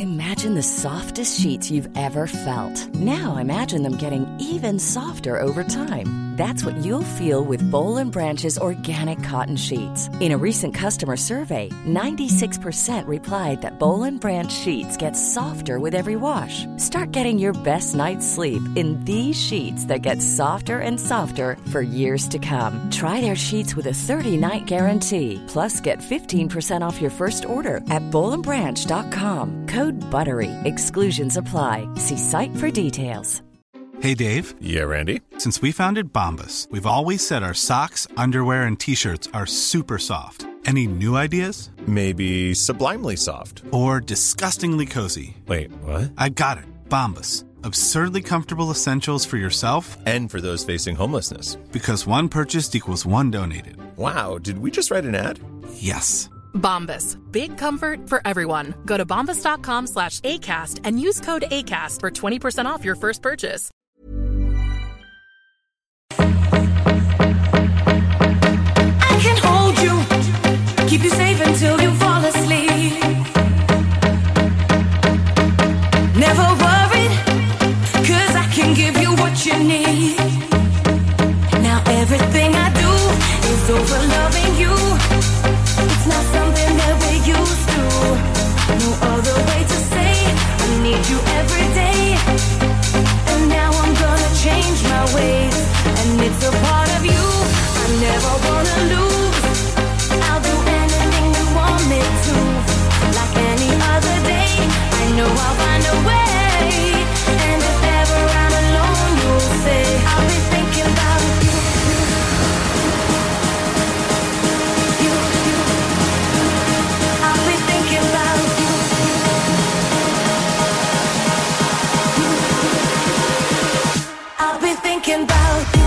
Imagine the softest sheets you've ever felt. Now imagine them getting even softer over time. That's what you'll feel with Boll & Branch's organic cotton sheets. In a recent customer survey, 96% replied that Boll & Branch sheets get softer with every wash. Start getting your best night's sleep in these sheets that get softer and softer for years to come. Try their sheets with a 30-night guarantee. Plus, get 15% off your first order at bollandbranch.com. Code BUTTERY. Exclusions apply. See site for details. Hey, Dave. Yeah, Randy. Since we founded Bombas, we've always said our socks, underwear, and T-shirts are super soft. Any new ideas? Maybe sublimely soft. Or disgustingly cozy. Wait, what? I got it. Bombas. Absurdly comfortable essentials for yourself and for those facing homelessness. Because one purchased equals one donated. Wow, did we just write an ad? Yes. Bombas. Big comfort for everyone. Go to bombas.com/ACAST and use code ACAST for 20% off your first purchase. I can hold you, keep you safe until you fall asleep. Never worried, 'cause I can give you what you need. Now everything I do is over loving you. It's not something that we're used to. No other way to say I need you every day. And now I'm gonna change my ways. And it's a part of you I never wanna lose. I'll do anything you want me to. Like any other day, I know I'll find a way. And if ever I'm alone, you'll say I'll be thinking about you. I'll be thinking about you. I'll be thinking about you.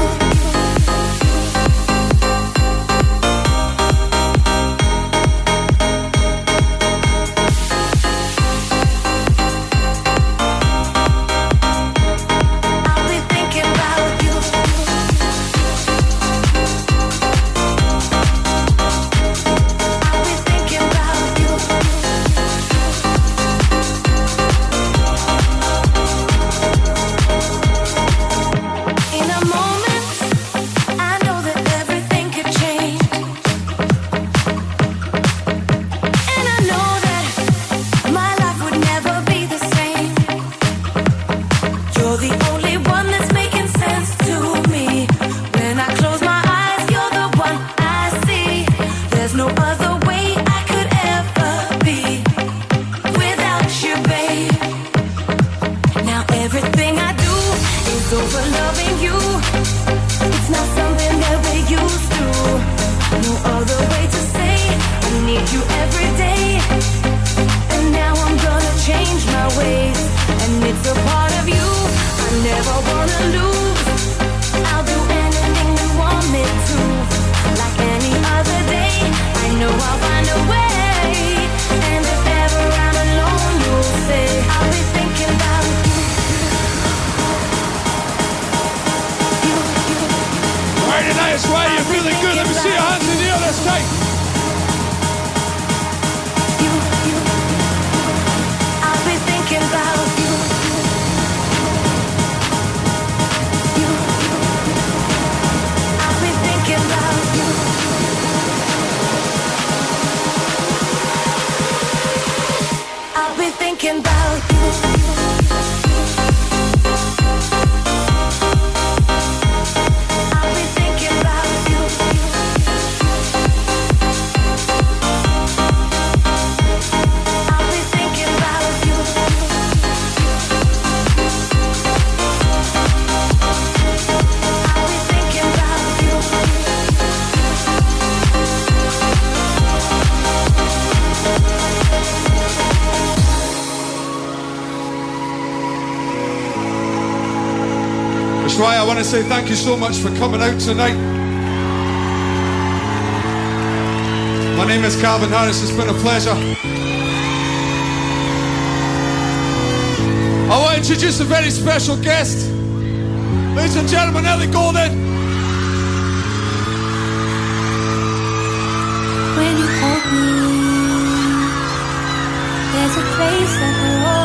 Right, I want to say thank you so much for coming out tonight. My name is Calvin Harris, it's been a pleasure. I want to introduce a very special guest. Ladies and gentlemen, Ellie Goulding. When you hold me, there's a place that will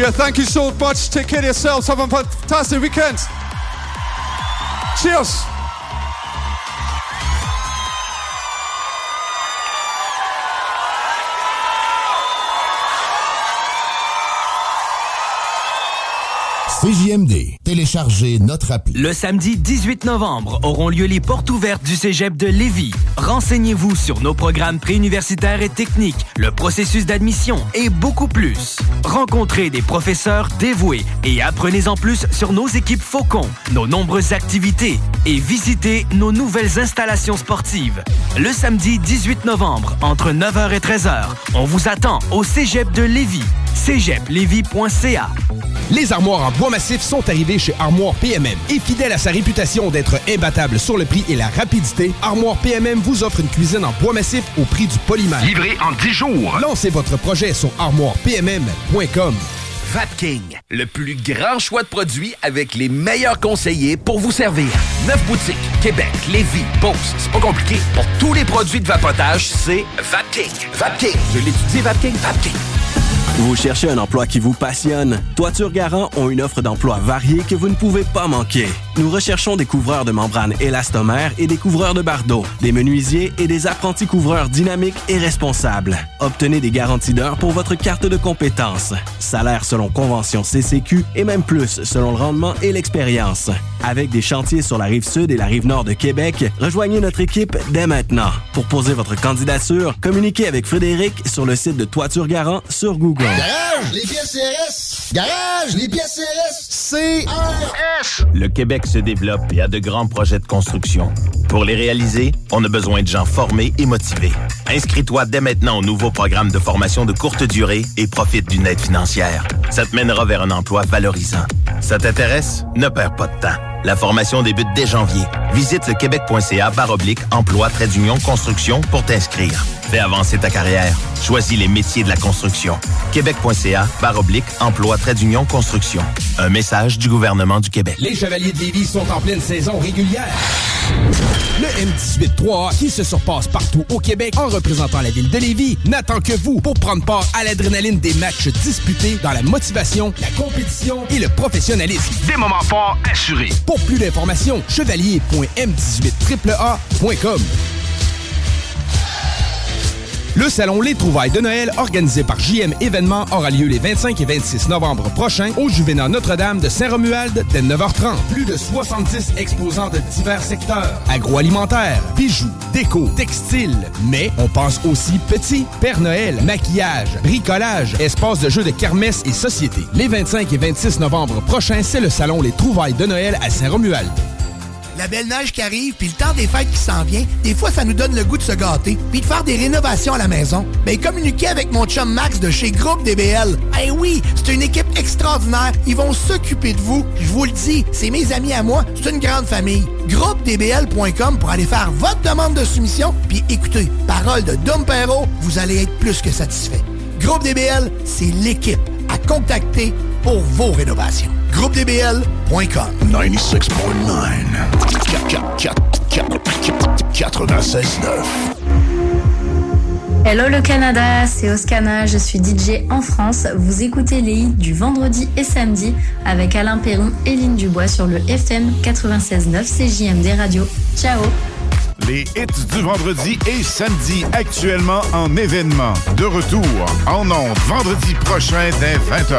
Yeah, thank you so much. Take care of yourselves. Have a fantastic weekend. Cheers. CJMD. Téléchargez notre appli. Le samedi 18 novembre auront lieu les portes ouvertes du Cégep de Lévis. Renseignez-vous sur nos programmes préuniversitaires et techniques, le processus d'admission et beaucoup plus. Rencontrez des professeurs dévoués et apprenez-en plus sur nos équipes Faucon, nos nombreuses activités et visitez nos nouvelles installations sportives. Le samedi 18 novembre, entre 9h et 13h, on vous attend au Cégep de Lévis. cégeplevy.ca. Les armoires en bois massif sont arrivées chez Armoire PMM. Et fidèle à sa réputation d'être imbattable sur le prix et la rapidité, Armoire PMM vous offre une cuisine en bois massif au prix du polymère. Livré en 10 jours. Lancez votre projet sur armoirepmm.com. Vapking, le plus grand choix de produits avec les meilleurs conseillers pour vous servir. 9 boutiques, Québec, Lévis, Beauce. C'est pas compliqué. Pour tous les produits de vapotage, c'est Vapking. Vapking. Je l'étudie, Vapking. Vapking. Vous cherchez un emploi qui vous passionne? Toiture Garant ont une offre d'emploi variée que vous ne pouvez pas manquer. Nous recherchons des couvreurs de membranes élastomères et des couvreurs de bardeaux, des menuisiers et des apprentis couvreurs dynamiques et responsables. Obtenez des garanties d'heures pour votre carte de compétences. Salaire selon convention CCQ et même plus selon le rendement et l'expérience. Avec des chantiers sur la rive sud et la rive nord de Québec, rejoignez notre équipe dès maintenant. Pour poser votre candidature, communiquez avec Frédéric sur le site de Toiture Garant sur Google. Garage, les pièces CRS. Garage, les pièces CRS. CRS. Le Québec se développe et a de grands projets de construction. Pour les réaliser, on a besoin de gens formés et motivés. Inscris-toi dès maintenant au nouveau programme de formation de courte durée et profite d'une aide financière. Ça te mènera vers un emploi valorisant. Ça t'intéresse? Ne perds pas de temps. La formation débute dès janvier. Visite le québec.ca/emploi-construction pour t'inscrire. Fais avancer ta carrière. Choisis les métiers de la construction. québec.ca/emploi-construction. Un message du gouvernement du Québec. Les Chevaliers de Lévis sont en pleine saison régulière. Le M18-3A, qui se surpasse partout au Québec en représentant la ville de Lévis, n'attend que vous pour prendre part à l'adrénaline des matchs disputés dans la motivation, la compétition et le professionnalisme. Des moments forts assurés. Pour plus d'informations, chevalier.m18AAA.com. Le salon Les Trouvailles de Noël, organisé par JM Événements, aura lieu les 25 et 26 novembre prochains au Juvénat Notre-Dame de Saint-Romuald dès 9h30. Plus de 70 exposants de divers secteurs. Agroalimentaire, bijoux, déco, textile. Mais on pense aussi petit, Père Noël, maquillage, bricolage, espace de jeux de kermesse et société. Les 25 et 26 novembre prochains, c'est le salon Les Trouvailles de Noël à Saint-Romuald. La belle neige qui arrive, puis le temps des fêtes qui s'en vient, des fois, ça nous donne le goût de se gâter, puis de faire des rénovations à la maison. Ben, communiquez avec mon chum Max de chez Groupe DBL. Eh oui, c'est une équipe extraordinaire. Ils vont s'occuper de vous. Je vous le dis, c'est mes amis à moi. C'est une grande famille. GroupeDBL.com pour aller faire votre demande de soumission, puis écoutez, parole de Dom Perrault, vous allez être plus que satisfait. Groupe DBL, c'est l'équipe à contacter pour vos rénovations. GroupeDBL.com 96.9 Hello le Canada, c'est Oscana, je suis DJ en France. Vous écoutez les hits du vendredi et samedi avec Alain Perron et Lynn Dubois sur le FM 96.9 CJMD Radio. Ciao. Les hits du vendredi et samedi actuellement en événement. De retour en ondes vendredi prochain dès 20h.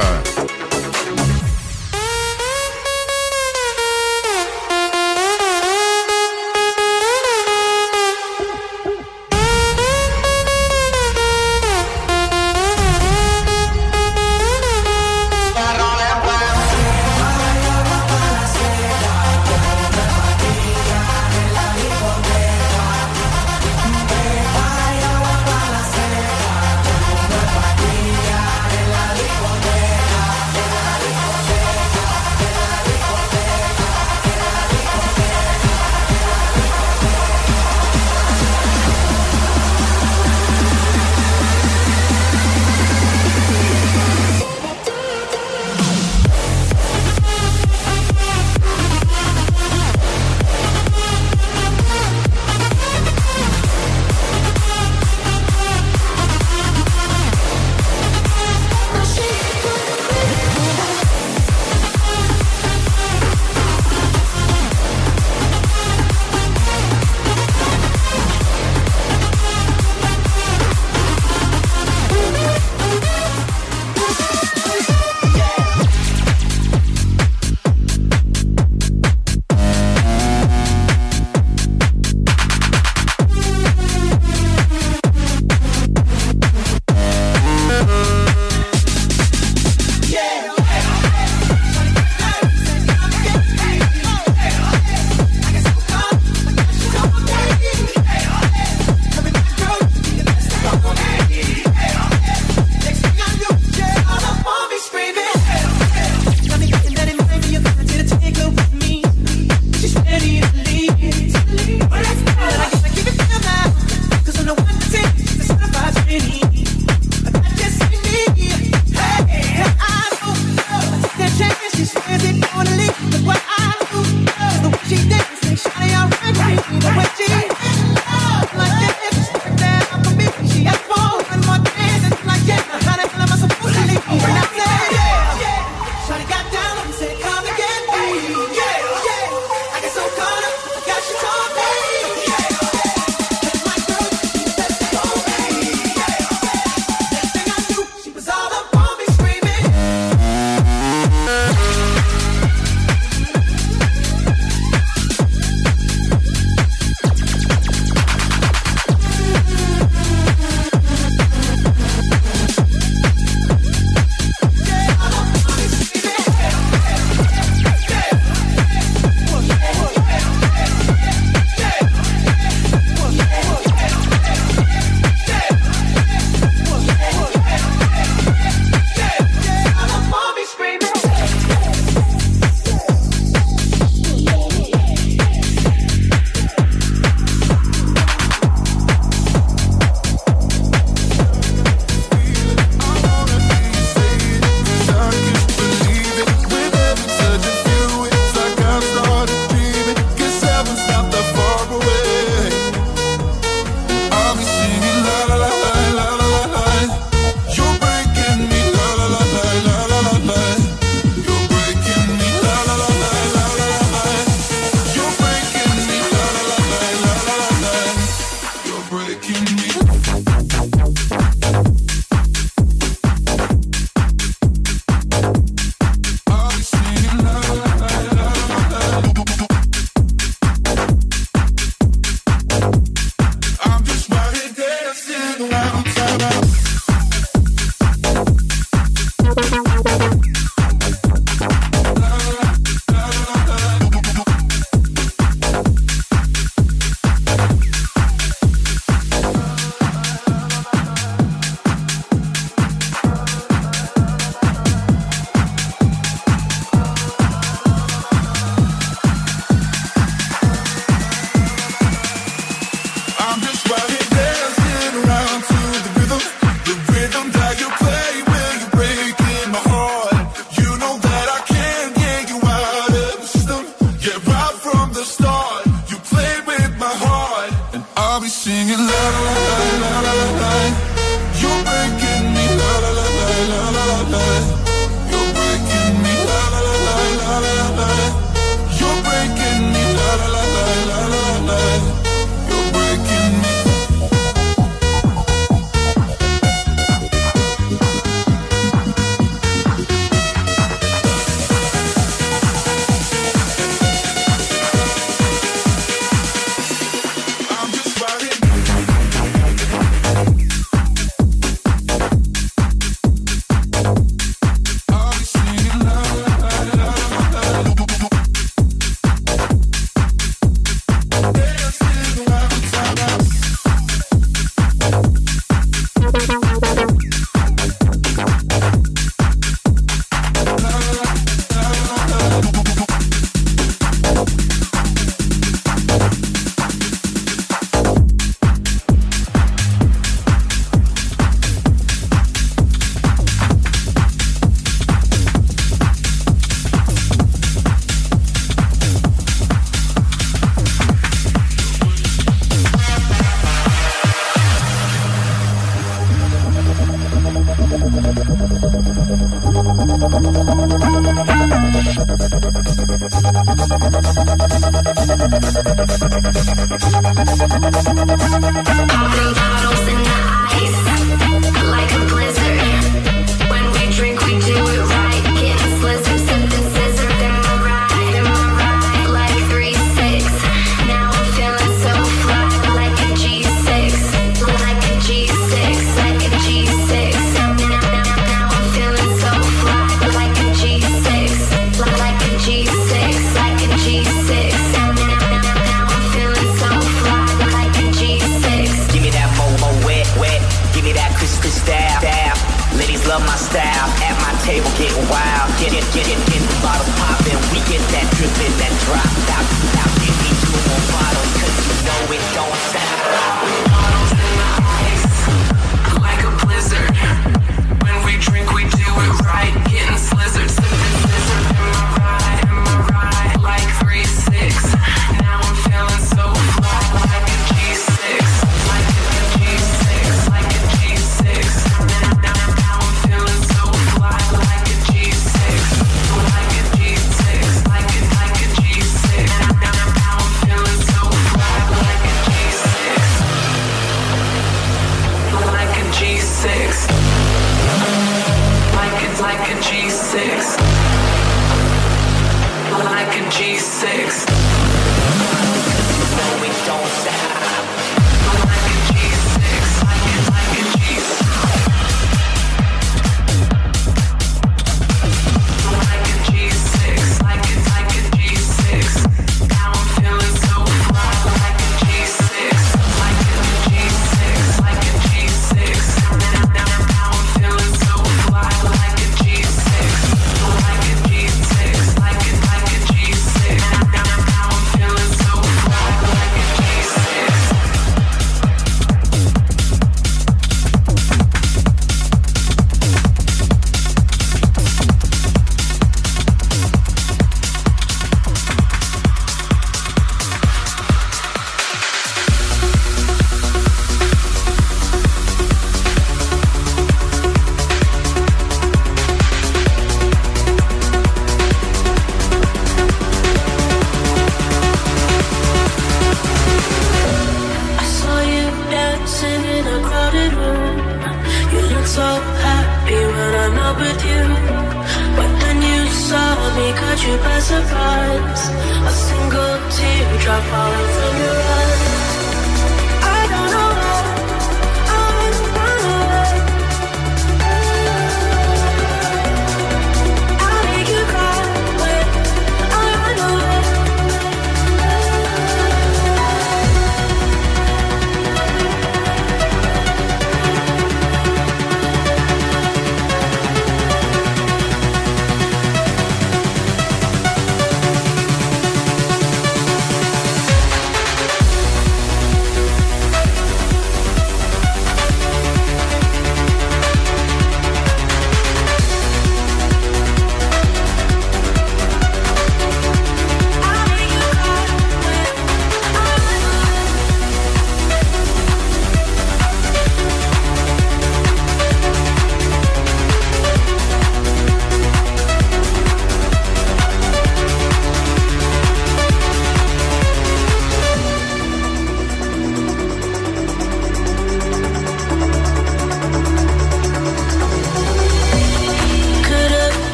singing la la la la la la. You're breaking me la la la la la la la. You're breaking me la la la la la la la. You're breaking me la la la la la la la. You're breaking me.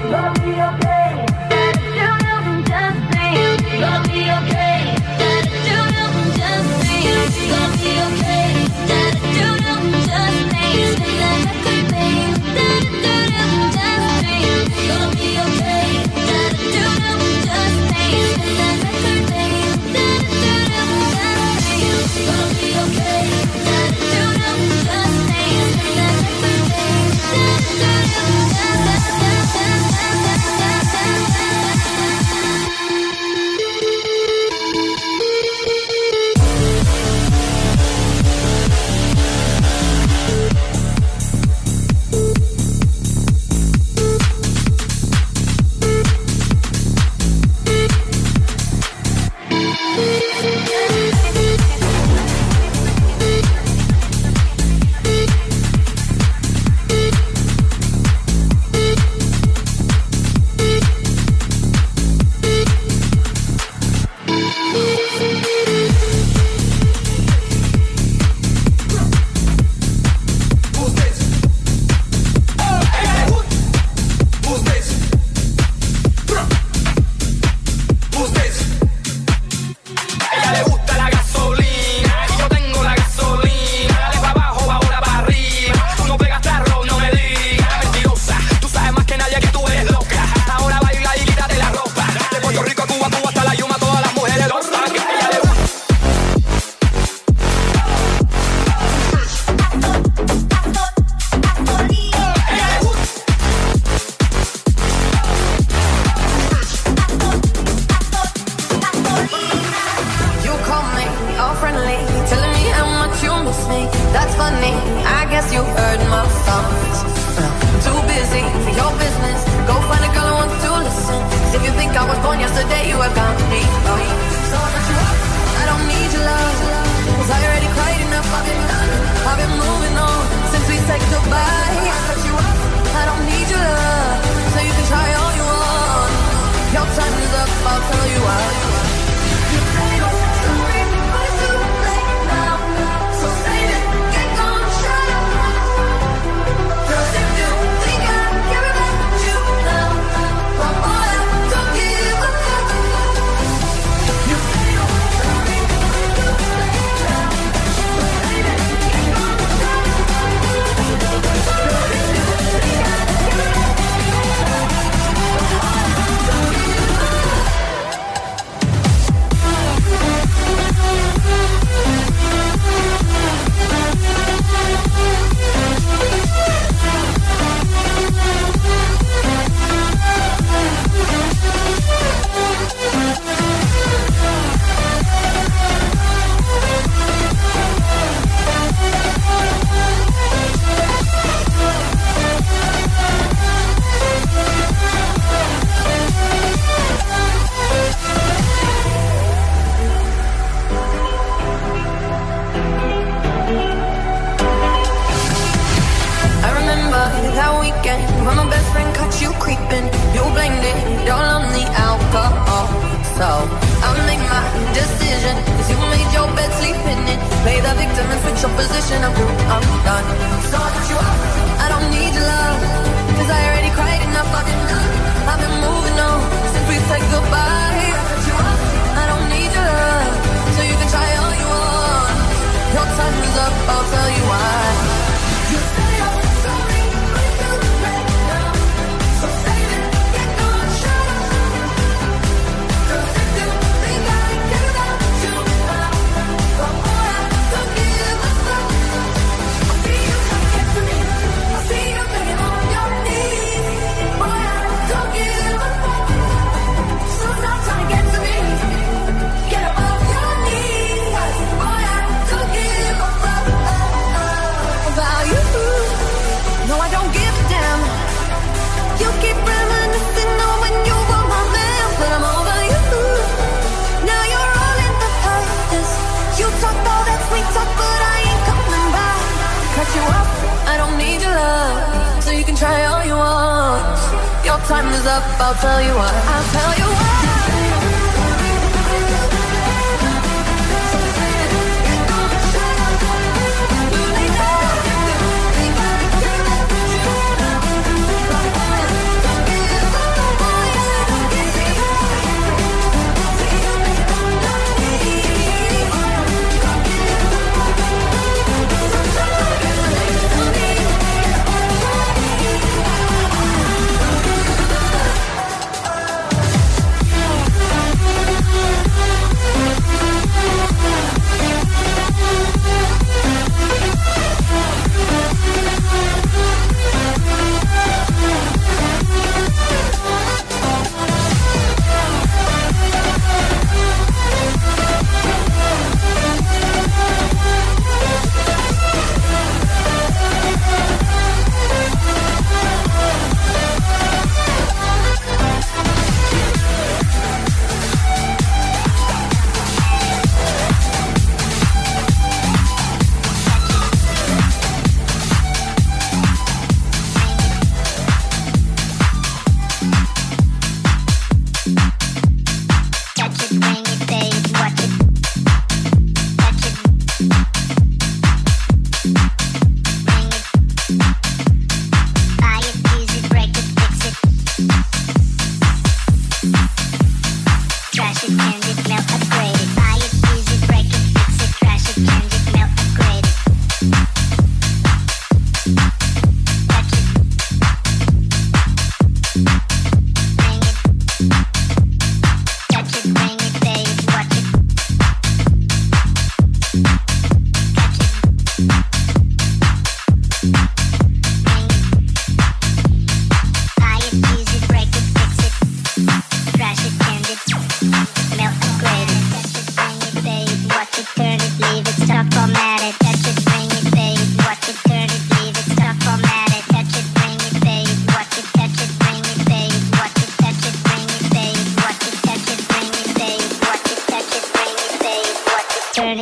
Time is up, I'll tell you what. I'll tell you what.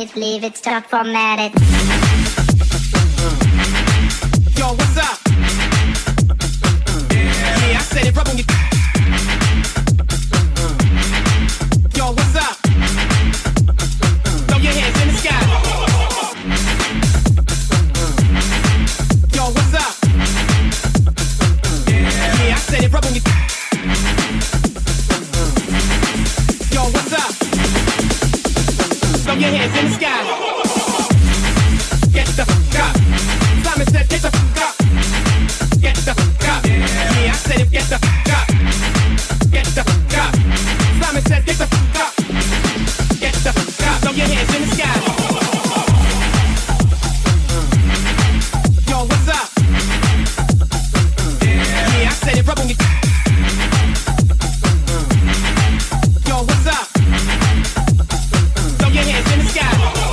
it, leave it, start format it. Yo, what's up? Yeah, I said it, rub on your... Yo, what's up? Throw your hands in the sky. Yo, what's up? Yeah, I said it, rub on your... Yo, what's up? Throw your hands in the sky. Get the fuck up. Simon said, get the fuck up. Get the fuck up. Yeah, I said it, get the fuck up. Get the fuck up. Simon said, get the fuck up. Get the fuck up. Throw your hands in the sky. Yo, what's up? Yeah, I said it, rub on your... Yo, what's up? Throw your hands in the sky.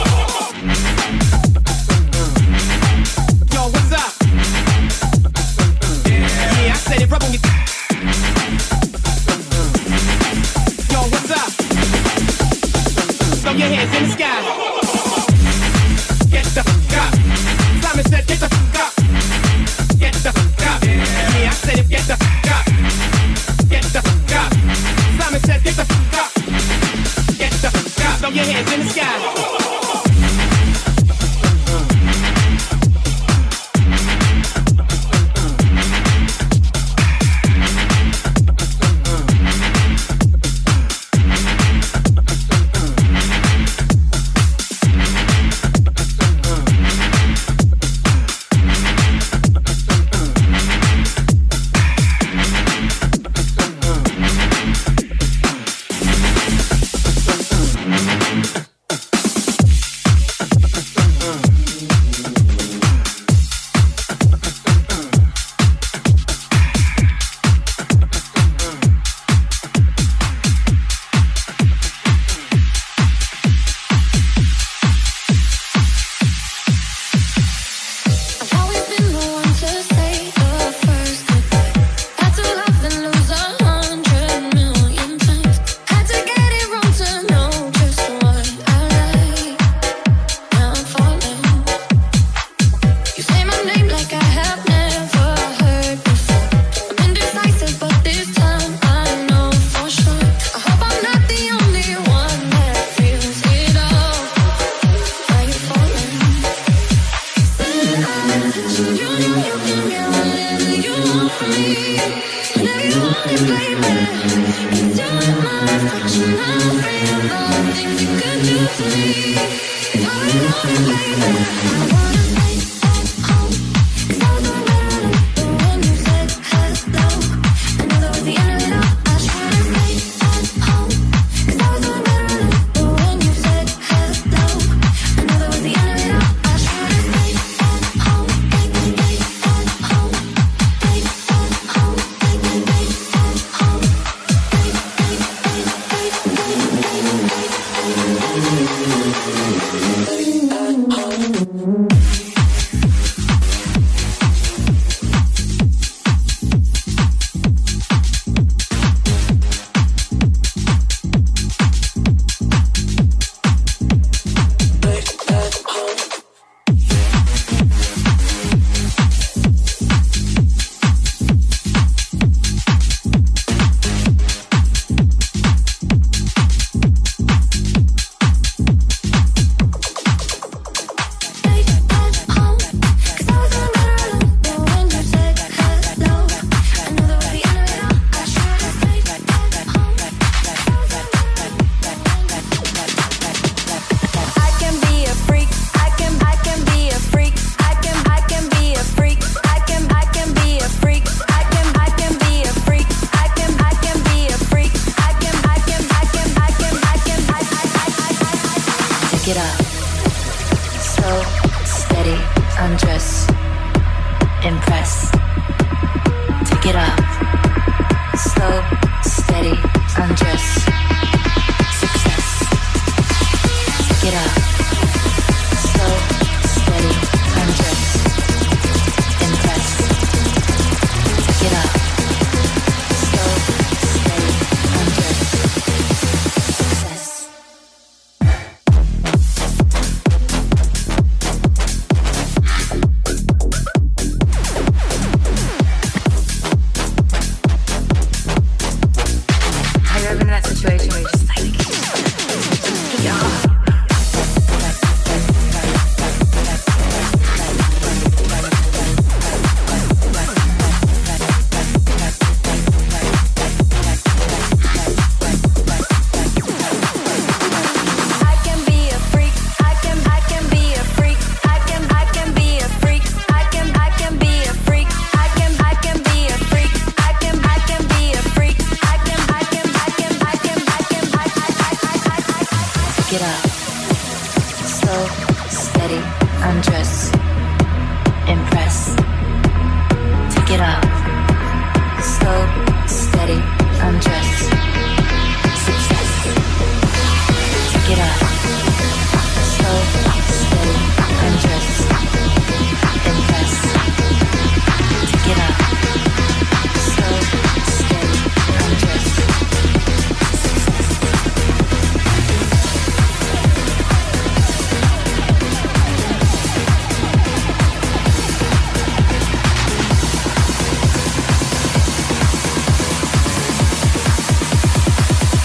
Yo, what's up? Yeah, I said it, rub on your... Yo, what's up? Throw your hands in the sky. Get the fuck up. Simon said, get the fuck up. Get the fuck up. Yeah, I said it, get the fuck up. Get the fuck up. Simon said, get the fuck up. Get the fuck up. Throw your hands in the sky.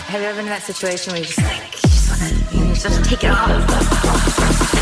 Have you ever been in that situation where you just want to take it off?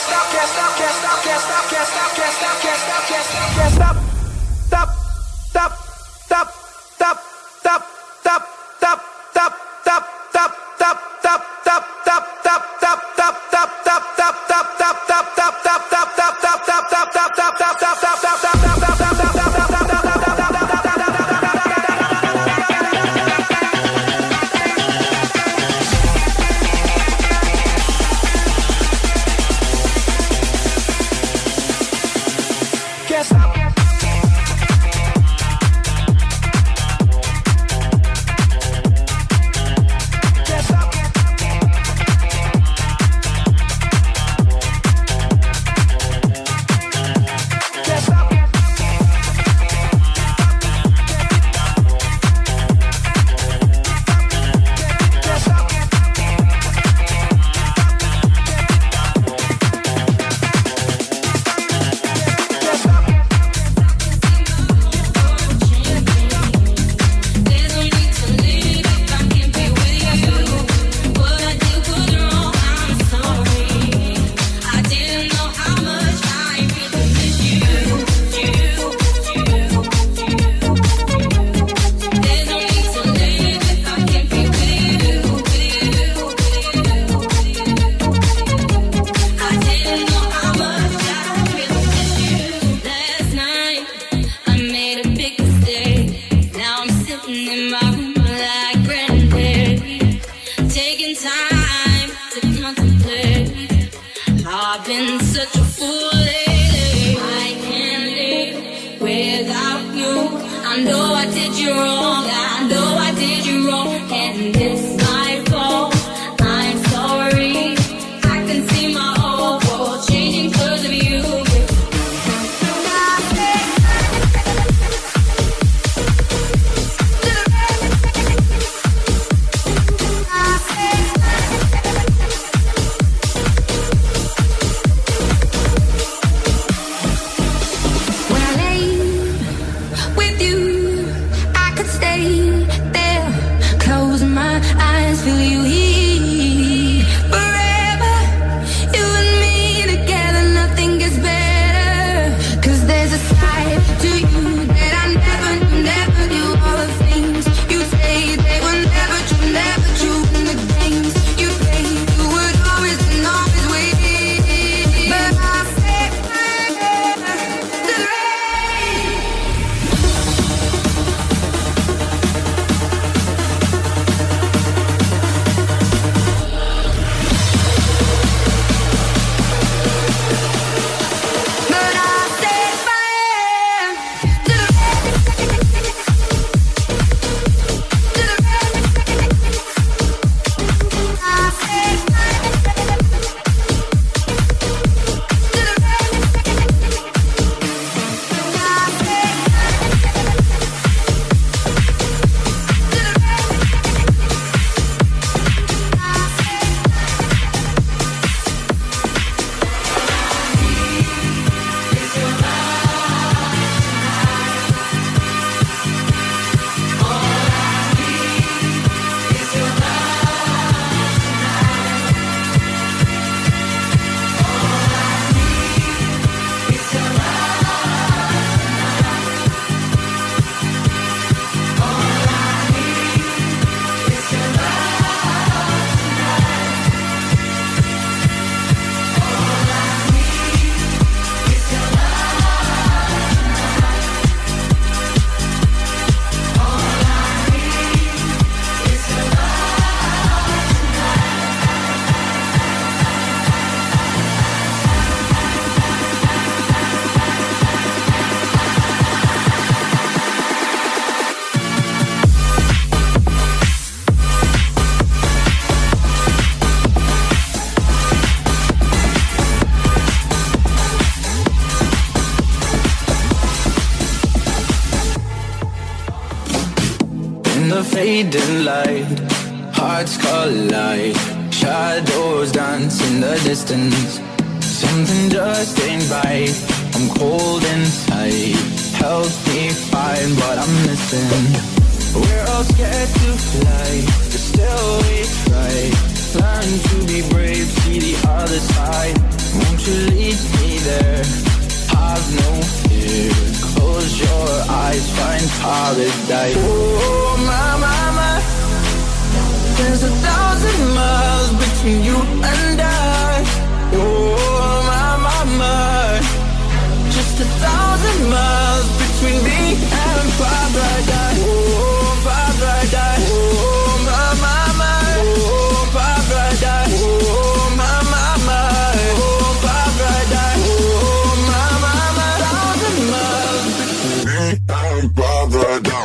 fading light, hearts collide, shadows dance in the distance. Something just ain't right, I'm cold inside. Help me find what I'm missing. We're all scared to fly, but still we try. Learn to be brave, see the other side. Won't you paradise. Oh, my, my, my. There's 1,000 miles between you and I. Oh, my, my, my. Just 1,000 miles between me and paradise. Oh, paradise. Oh, my, my, my. Oh, paradise. Oh, my, my, my. Oh, paradise. Oh, my, my, my. 1,000 miles between me and paradise.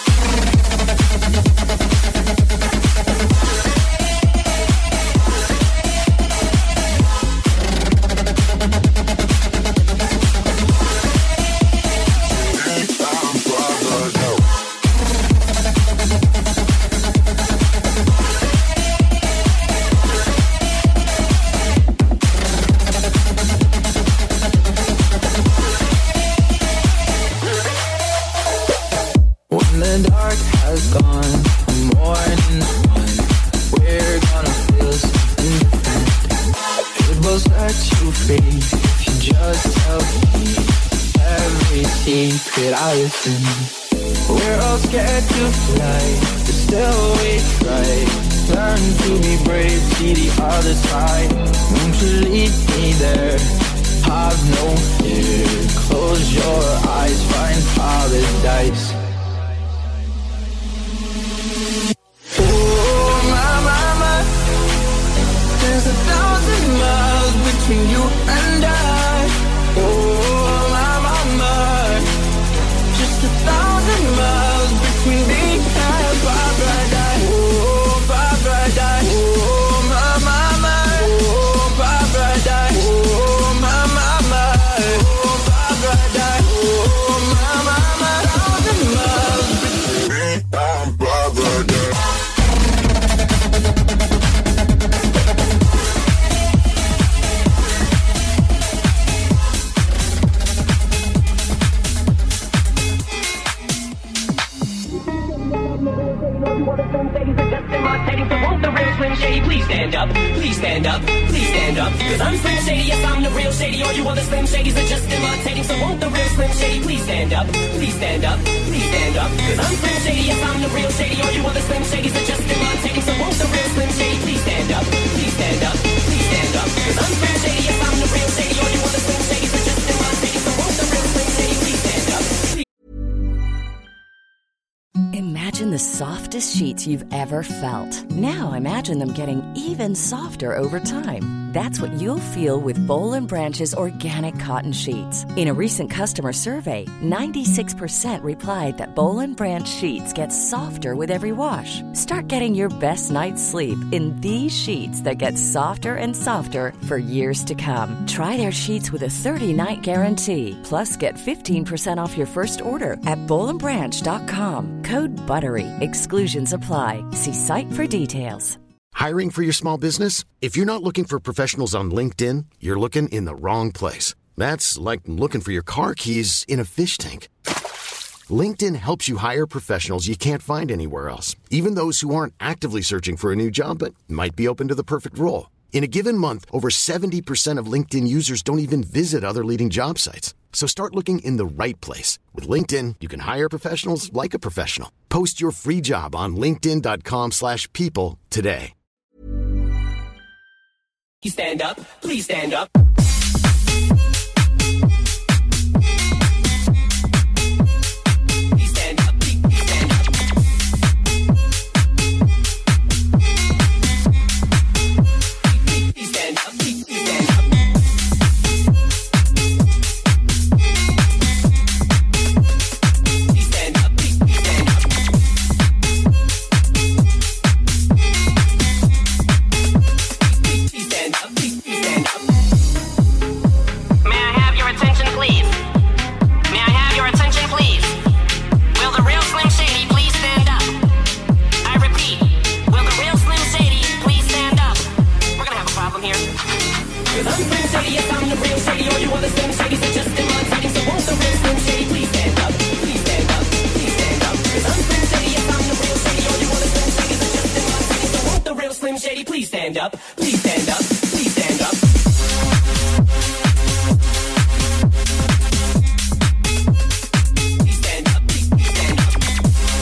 When the dark has gone, the morning's won. We're gonna feel something different. It will set you free if you just tell me every secret I listen. We're all scared to fly, but still we try. Learn to be brave, see the other side. Won't you lead me there? Have no fear. Close your eyes, find paradise. There's 1,000 miles between you and I. Oh, my, my, my. Just 1,000 miles between me and paradise. Oh, paradise. Oh, my, my, my. Oh, paradise. Oh, my, my, my. Oh, paradise. Oh, my, my, my. 1,000 miles between me and paradise. Please stand up, please stand up, please stand up. Cause I'm Slim Shady, yes I'm the real Shady. All you other Slim Shadys are just imitating. So won't the real Slim Shady please stand up, please stand up, please stand up. Cause I'm Slim Shady, yes I'm the real Shady. All you other Slim Shadys are just imitating. So won't the real Slim Shady please stand up, please stand up, please stand up. Cause I'm Slim Shady, yes I'm the real Shady. All you other Slim Shadys are just imitating. So won't the real Slim Shady please stand up. Imagine the softest sheets you've ever felt. Now imagine them getting even softer over time. That's what you'll feel with Boll & Branch's organic cotton sheets. In a recent customer survey, 96% replied that Boll & Branch sheets get softer with every wash. Start getting your best night's sleep in these sheets that get softer and softer for years to come. Try their sheets with a 30-night guarantee. Plus, get 15% off your first order at bollandbranch.com. Code BUTTERY. Exclusions apply. See site for details. Hiring for your small business? If you're not looking for professionals on LinkedIn, you're looking in the wrong place. That's like looking for your car keys in a fish tank. LinkedIn helps you hire professionals you can't find anywhere else, even those who aren't actively searching for a new job but might be open to the perfect role. In a given month, over 70% of LinkedIn users don't even visit other leading job sites. So start looking in the right place. With LinkedIn, you can hire professionals like a professional. Post your free job on linkedin.com/people today. You stand up, please stand up. Please stand up, please stand up, please stand up. Please stand up, please stand up.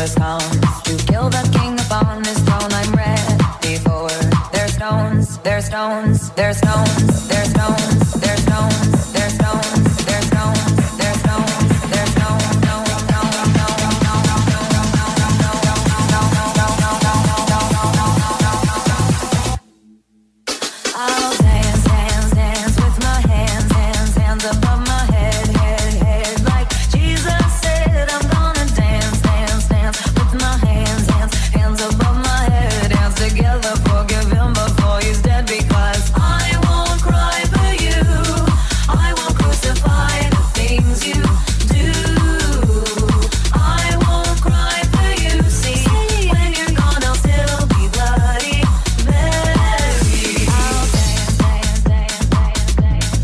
Judas comes to kill the king upon his throne. I'm ready for their stones, their stones, their stones, their stones, their stones, their stones, their stones, their stones, their stones. I'll dance, dance, dance with my hands, hands, hands above my head, head, head. Like Jesus said, I'm gonna dance, dance, dance with my hands, hands, hands above my head. Dance together, forgive him before he's dead. Because I won't cry for you, I won't crucify the things you do. I won't cry for you, see, when you're gone I'll still be bloody Mary. I'll dance, dance, dance, dance, dance,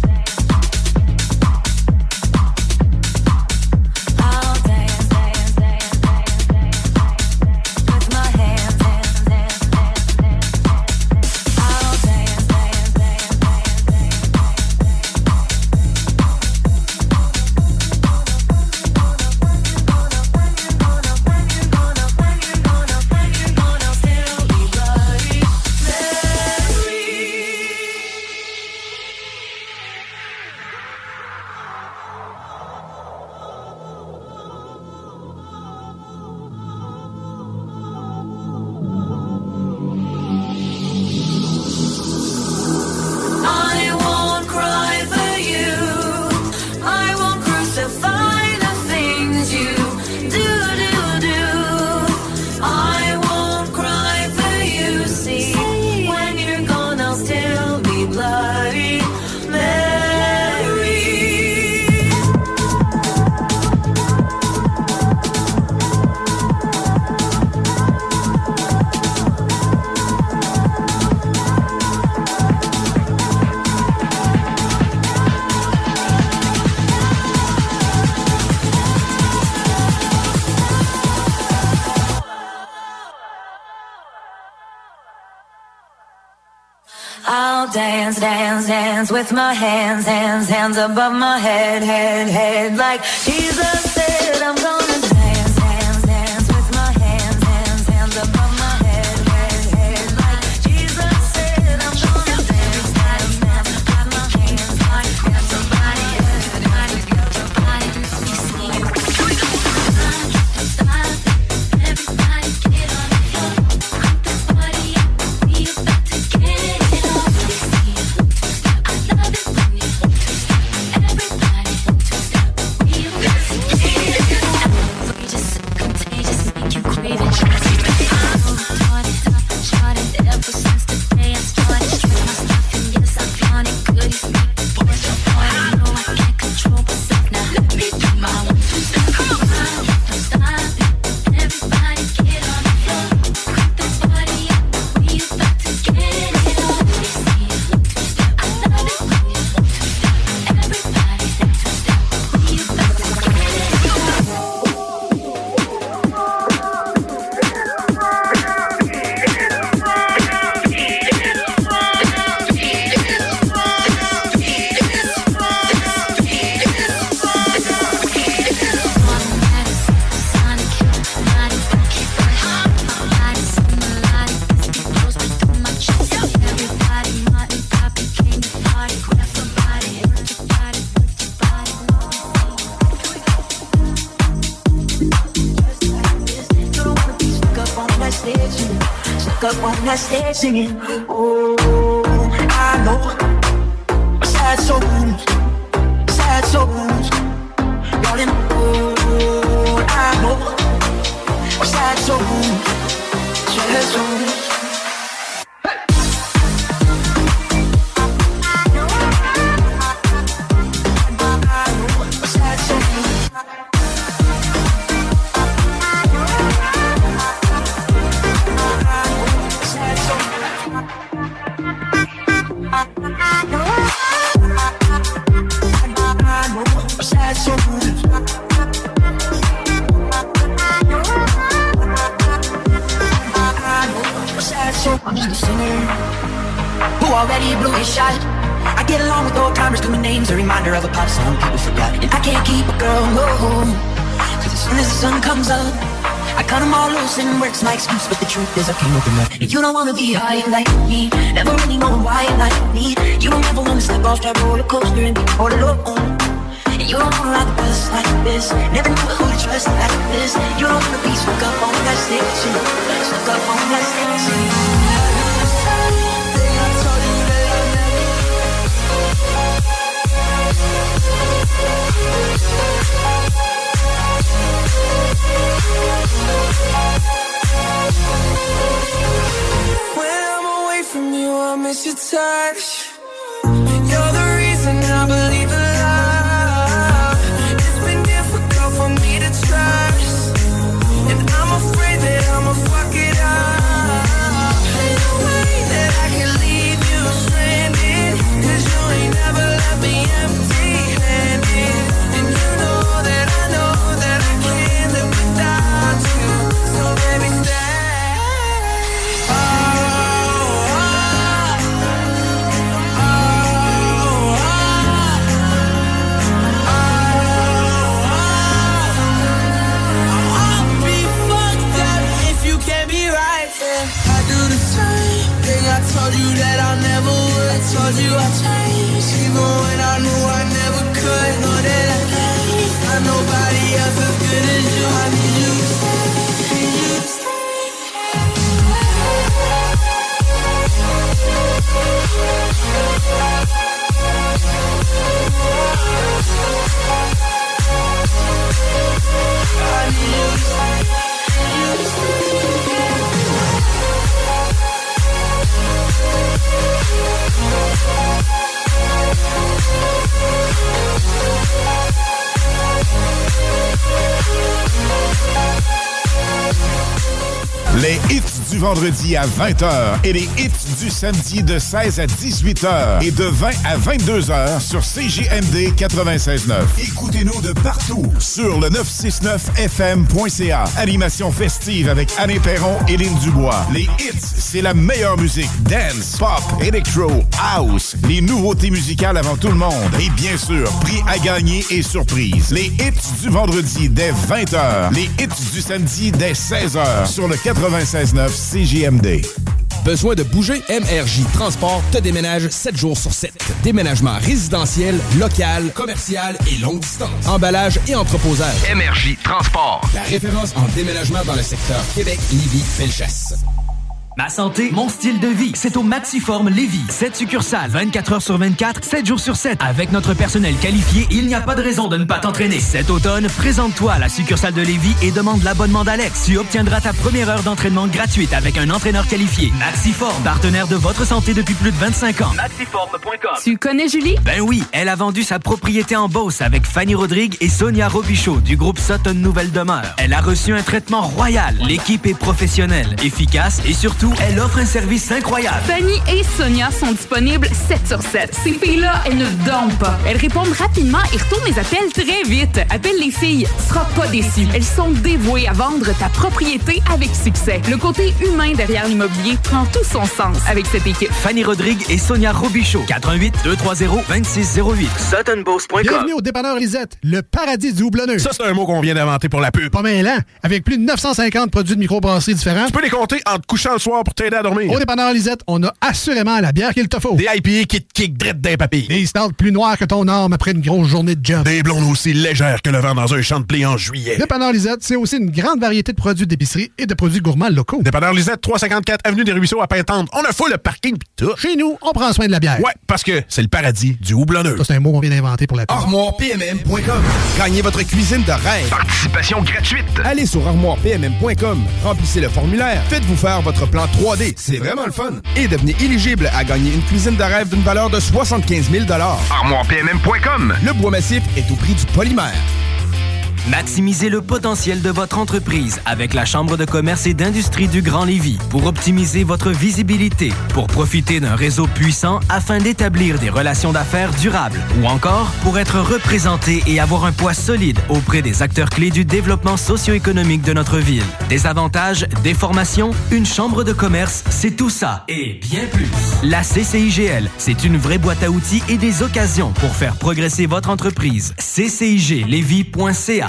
I'll dance, dance, dance, dance, dance, with my hands, hands, hands, hands, hands. I'll dance, dance, dance, dance, I won't cry for you, I won't crucify the things you do. I won't cry for you, see, when you're gone I'll still be bloody Mary. I'll dance, dance, dance with my hands, hands, hands above my head, head, head. Like Jesus said, I'm gonna dance, dance, dance with my hands, hands, hands above my head, head, head. Like Jesus said, I'm gonna dance, dance, dance with my hands, hands, hands above my head, head, head. Everybody get on the floor, put this party up, we about to get it on. I love it when you everybody two-step, we about to get it on. Outrageous, contagious, make you crave it. Started ever since the day I started. Straight my stuff and yes, I flaunt it. Goodies make the boys jump on it. No, I can't control myself now. Let me do my one, two-step. Don't stop it. Everybody get on the floor. Put this party up. We about to get it on. I love it when you two-step. Everybody two-step. We about to get it up on that stage singing. Oh, I know sad souls, sad souls, darling. Oh, I know sad souls, sad souls. I'm just a singer who already blew his shot. I get along with old timers, cause my name's a reminder of a pop song people forgot. And I can't keep a girl, no, cause as soon as the sun comes up, I cut them all loose and works my excuse, but the truth is I can't open up. You don't wanna be high like me, never really know why you like me. You don't ever wanna step off that roller coaster and be all alone. You don't wanna ride the bus like this, never know who to trust like this. You don't wanna be stuck up on that station, stuck up on that station. When I'm away from you, I miss your touch. You're the reason I believe in love. It's been difficult for me to trust, and I'm afraid that I'ma fuck it up. Ain't no way that I can leave you stranded, 'cause you ain't never left me empty-handed. And you know that I can't live without you. So baby, stay. I told you that I never would. I told you I'd change, even when I knew I never could. Know that I can't find nobody else as good as you. I need you to stay, need you to stay. I need you to stay, need you to stay. Les hits du vendredi à 20h et les hits du samedi de 16 à 18h et de 20 à 22h sur CJMD 96.9. Écoutez-nous de partout sur le 969fm.ca. Animation festive avec Anne Perron et Lynn Dubois. Les hits, c'est la meilleure musique. Dance, pop, electro, house. Les nouveautés musicales avant tout le monde. Et bien sûr, prix à gagner et surprise. Les hits du vendredi dès 20h. Les hits du samedi dès 16h sur le 96.9 CJMD. Besoin de bouger? MRJ Transport te déménage 7 jours sur 7. Déménagement résidentiel, local, commercial et longue distance. Emballage et entreposage. MRJ Transport. La référence en déménagement dans le secteur Québec, Lévis, Bellechasse. Ma santé, mon style de vie, c'est au Maxiform Lévis. 7 succursales, 24 heures sur 24, 7 jours sur 7. Avec notre personnel qualifié, il n'y a pas de raison de ne pas t'entraîner. Cet automne, présente-toi à la succursale de Lévis et demande l'abonnement d'Alex. Tu obtiendras ta première heure d'entraînement gratuite avec un entraîneur qualifié. Maxiform, partenaire de votre santé depuis plus de 25 ans. Maxiform.com. Tu connais Julie? Ben oui, elle a vendu sa propriété en Beauce avec Fanny Rodrigue et Sonia Robichaud du groupe Sutton Nouvelle Demeure. Elle a reçu un traitement royal. L'équipe est professionnelle, efficace et surtout, elle offre un service incroyable. Fanny et Sonia sont disponibles 7 sur 7. Ces filles-là, elles ne dorment pas. Elles répondent rapidement et retournent les appels très vite. Appelle les filles, tu seras pas déçu. Elles sont dévouées à vendre ta propriété avec succès. Le côté humain derrière l'immobilier prend tout son sens avec cette équipe. Fanny Rodrigue et Sonia Robichaud. 88 230 2608. SuttonBeauce.com. Bienvenue au dépanneur Lisette, le paradis du houblonneux. Ça, c'est un mot qu'on vient d'inventer pour la pub. Pas mêlant. Avec plus de 950 produits de microbrasserie différents. Tu peux les compter en te couchant le soir pour t'aider à dormir. Au dépanneur Lisette, on a assurément la bière qu'il te faut. Des IPA qui te kick drette d'un papy. Des stouts plus noirs que ton arme après une grosse journée de job. Des blondes aussi légères que le vent dans un champ de blé en juillet. Dépanneur Lisette, c'est aussi une grande variété de produits d'épicerie et de produits gourmands locaux. Dépanneur Lisette, 354 Avenue des Ruisseaux à Pintendre. On a full le parking pis tout. Chez nous, on prend soin de la bière. Ouais, parce que c'est le paradis du houblonneux. Ça, c'est un mot qu'on vient d'inventer pour la pub. ArmoirePMM.com. Gagnez votre cuisine de rêve. Participation gratuite. Allez sur ArmoirePMM.com. Remplissez le formulaire. Faites-vous faire votre plan 3D. C'est vraiment le fun. Et devenez éligible à gagner une cuisine de rêve d'une valeur de 75 000 ArmoirePMM.com. Le bois massif est au prix du polymère. Maximisez le potentiel de votre entreprise avec la Chambre de commerce et d'industrie du Grand Lévis pour optimiser votre visibilité, pour profiter d'un réseau puissant afin d'établir des relations d'affaires durables ou encore pour être représenté et avoir un poids solide auprès des acteurs clés du développement socio-économique de notre ville. Des avantages, des formations, une chambre de commerce, c'est tout ça et bien plus. La CCIGL, c'est une vraie boîte à outils et des occasions pour faire progresser votre entreprise. CCIGLévis.ca.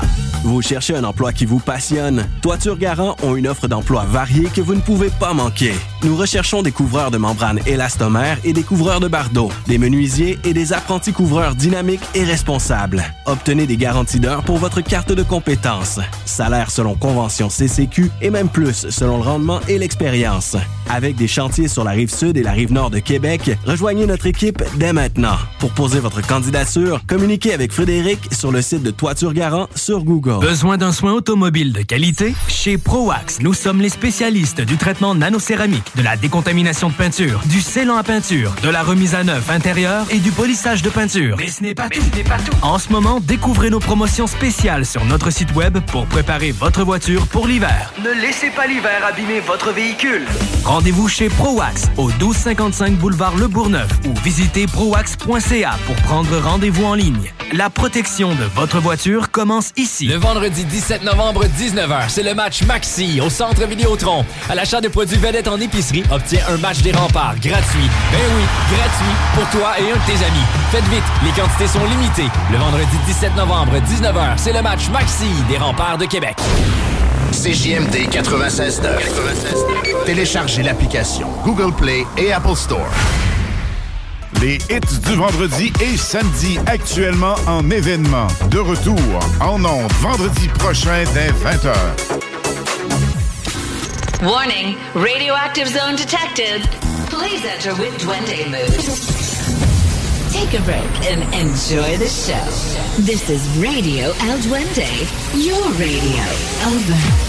Vous cherchez un emploi qui vous passionne? Toiture Garant ont une offre d'emploi variée que vous ne pouvez pas manquer. Nous recherchons des couvreurs de membranes élastomères et des couvreurs de bardeaux, des menuisiers et des apprentis couvreurs dynamiques et responsables. Obtenez des garanties d'heures pour votre carte de compétences. Salaire selon convention CCQ et même plus selon le rendement et l'expérience. Avec des chantiers sur la rive sud et la rive nord de Québec, rejoignez notre équipe dès maintenant. Pour poser votre candidature, communiquez avec Frédéric sur le site de Toiture Garant sur Google. Besoin d'un soin automobile de qualité? Chez ProAx, nous sommes les spécialistes du traitement nanocéramique, de la décontamination de peinture, du scellant à peinture, de la remise à neuf intérieure et du polissage de peinture. Mais ce n'est pas tout. En ce moment, découvrez nos promotions spéciales sur notre site web pour préparer votre voiture pour l'hiver. Ne laissez pas l'hiver abîmer votre véhicule. Rendez-vous chez ProAx au 1255 boulevard Le Bourgneuf ou visitez proax.ca pour prendre rendez-vous en ligne. La protection de votre voiture commence ici. Le vendredi 17 novembre, 19h, c'est le match Maxi au Centre Vidéotron. À l'achat de produits vedettes en épicerie, obtiens un match des remparts gratuit. Ben oui, gratuit pour toi et un de tes amis. Faites vite, les quantités sont limitées. Le vendredi 17 novembre, 19h, c'est le match Maxi des remparts de Québec. CJMD 96.9. Téléchargez l'application Google Play et Apple Store. Les hits du vendredi et samedi actuellement en événement. De retour en ondes vendredi prochain dès 20h. Warning, radioactive zone detected. Please enter with Duende mood. Take a break and enjoy the show. This is Radio El Duende, your radio. Over.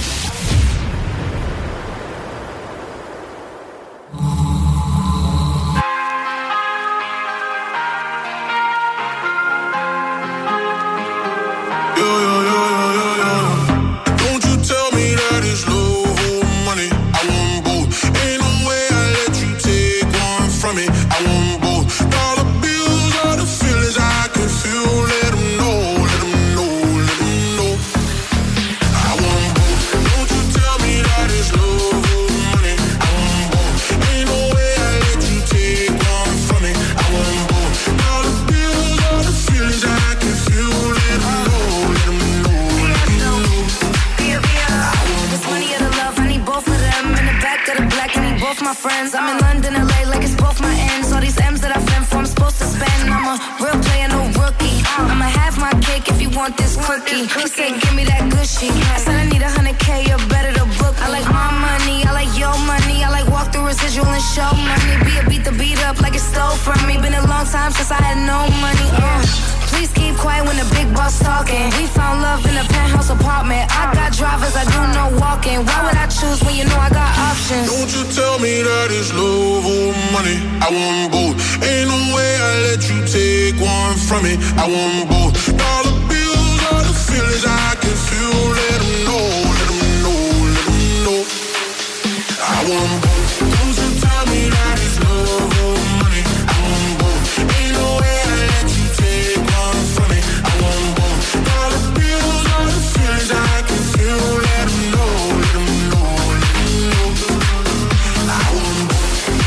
Friends, I'm in London, LA, like it's both my ends. All these M's that I've been for, I'm supposed to spend. I'm a real player, no rookie. I'ma have my cake if you want this cookie. He said, give me that gushy. I said, I need 100K, you're better to book. I like my money, I like your money. I like walk through residual and show money. Beat the beat up like it stole from me. Been a long time since I had no money. Please keep quiet when the big boss talking. We found love in a penthouse apartment. I got drivers, I do no walking. Why would I choose when you know I got options? Don't you tell me that it's love or money. I want both. Ain't no way I let you take one from me. I want both. Dollar bills are the feelings I can feel. Let them know, let them know, let them know. I want both. Don't you tell me that it's love or money. I want both. Ain't no way I let you take one from me. I want both. Dollar bills are the feelings I can feel. Let them know, let them know, let them know. I want both.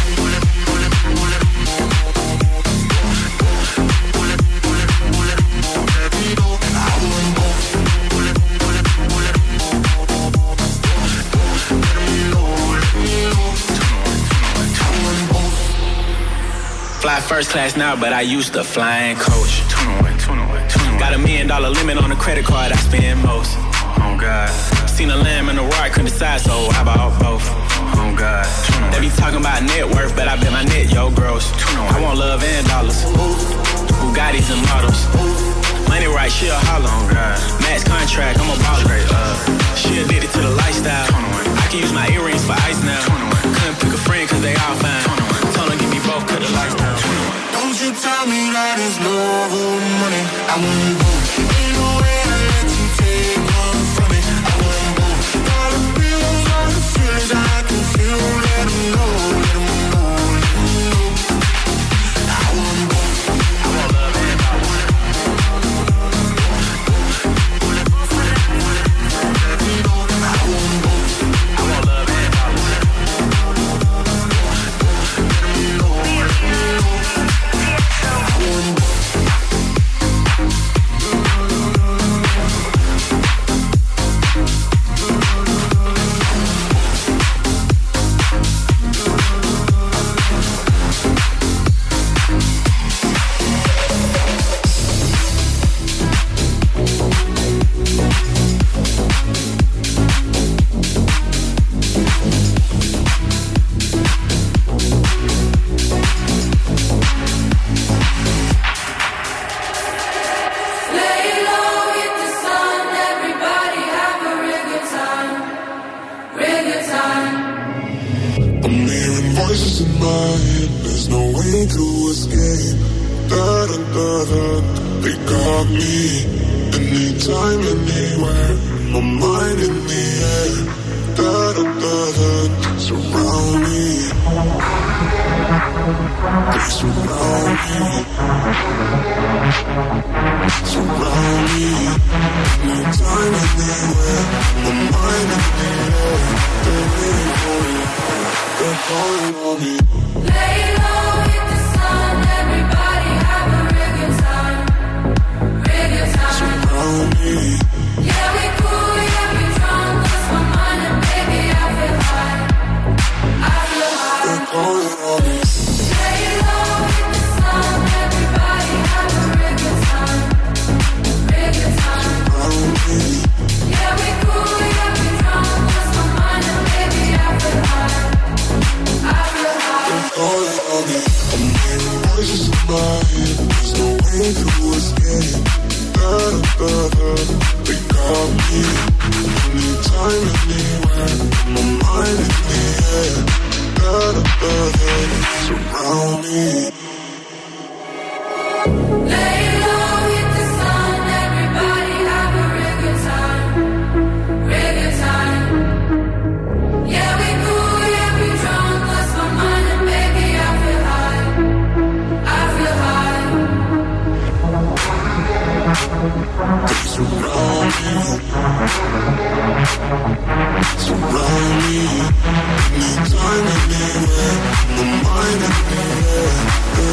Fly first class now, but I used to flying coach. Got $1 million limit on the credit card I spend most. Oh God. Seen a lamb and a roar, couldn't decide, so how about both? Oh God. They be talking about net worth, but I bet my net, yo, gross. I want love and dollars. Bugattis and models. Money right, she a holler. Oh God. Max contract, I'm a baller. She addicted to the lifestyle. I can use my earrings for ice now. Couldn't pick a friend cause they all fine. Told her give me both, cut the lights down. Don't you tell me that it's love or money. I want both. Ain't no way I let you take one from me. I want both. Dollar bills are the feelings I can feel. Let them know, let them know, let them know. I want both. I want love and power. I want both. I want love and power. Let them know. to escape. They got me. Anytime, anywhere. My mind in the air. Surround me. They surround me. Surround me. Anytime, anywhere. My mind in the air. They're calling on me. Lay low, hit the sun. Everybody have a real good time. Real good time. Surround me. Yeah, we cool, yeah, we drunk. Lost my mind and baby, I feel high. I feel high. They're calling on me. Lay low, hit the sun. Everybody have a real good time. Real good time. Surround me. Yeah, we cool, yeah, we drunk. Lost my mind and baby, I feel high. I feel high. They're calling on me. I'm hearing voices in my head. There's no way to escape. They got me. Anytime, anywhere. My mind in the air. Surround me. Lay low, hit the sun. Everybody have a real good time. Real good time. Yeah, we cool, yeah, we drunk. Lost my mind and baby, I feel high. I feel high. They surround me. Surround me. Anytime, anywhere. My mind in the air.